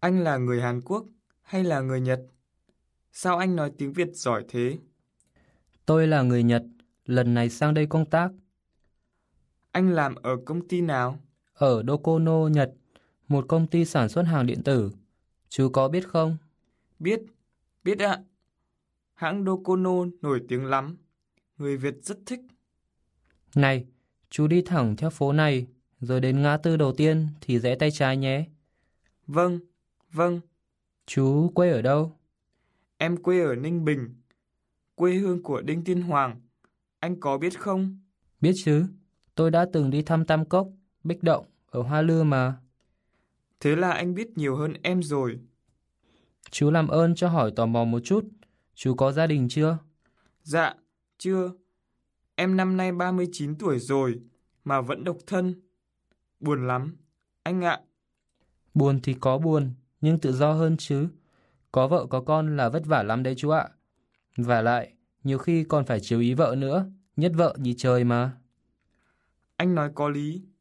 Anh là người Hàn Quốc hay là người Nhật? Sao anh nói tiếng Việt giỏi thế? Tôi là người Nhật, lần này sang đây công tác. Anh làm ở công ty nào? Ở Docono, Nhật, một công ty sản xuất hàng điện tử. Chú có biết không? Biết, biết ạ. Hãng Docono nổi tiếng lắm. Người Việt rất thích. Này, chú đi thẳng theo phố này, rồi đến ngã tư đầu tiên thì rẽ tay trái nhé. Vâng, vâng, Chú quê ở đâu? em quê ở Ninh Bình, quê hương của Đinh Tiên Hoàng. Anh có biết không? Biết chứ, tôi đã từng đi thăm Tam Cốc, Bích Động ở Hoa Lư mà. Thế là anh biết nhiều hơn em rồi. Chú làm ơn cho hỏi tò mò một chút, chú có gia đình chưa? Dạ, chưa. Em năm nay 39 tuổi rồi, mà vẫn độc thân. Buồn lắm, anh ạ. Buồn thì có buồn, nhưng tự do hơn chứ. Có vợ có con là vất vả lắm đấy chú ạ. Vả lại, nhiều khi còn phải chiếu ý vợ nữa, nhất vợ nhì trời mà. Anh nói có lý.